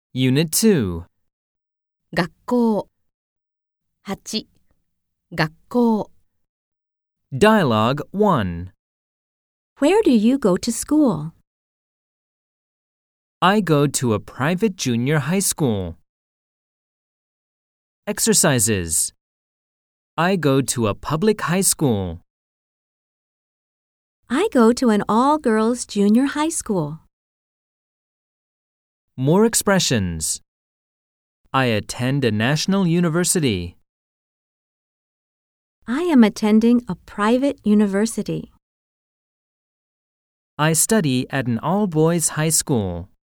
Unit 2. 学校。8. 学校。 Dialogue 1. Where do you go to school? I go to a private junior high school. Exercises. I go to a public high school. I go to an all-girls junior high school. More expressions. I attend a national university. I am attending a private university. I study at an all-boys high school.